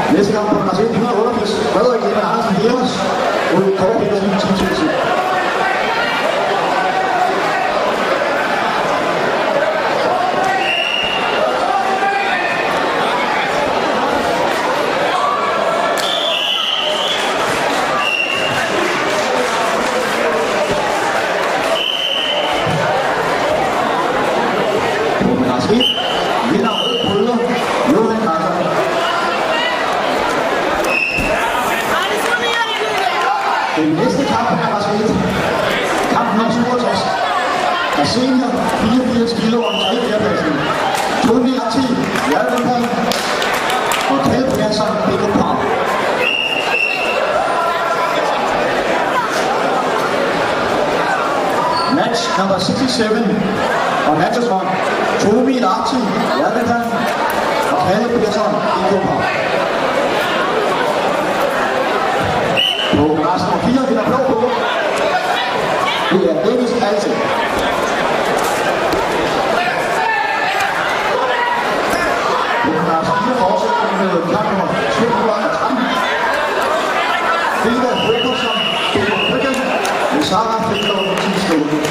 Næste kamp på Marseille 188. Frederik Emil Andersen Heros mod Kåre Petersen Team Chelsea. Vinder rød bryder Johan Carter. Den næste kamp er Marseille. Kamp nummer 67. Der senior 84 kilo om 3 fjerdepladsen. Tony Arti, Hjerteland og Kjeld Persson, Bæk og Park. Match number 67 on matches 1. Tomi Lahti, Hjerteland og Kjeld Persson, Bæk og Park. På græs nummer 4 vinder blå på. Det er Dennis Alte. På græs 4 fortsætter med kamp nummer 213. Frida Frederiksen, Frederiksen, med Sarah Frederiksen,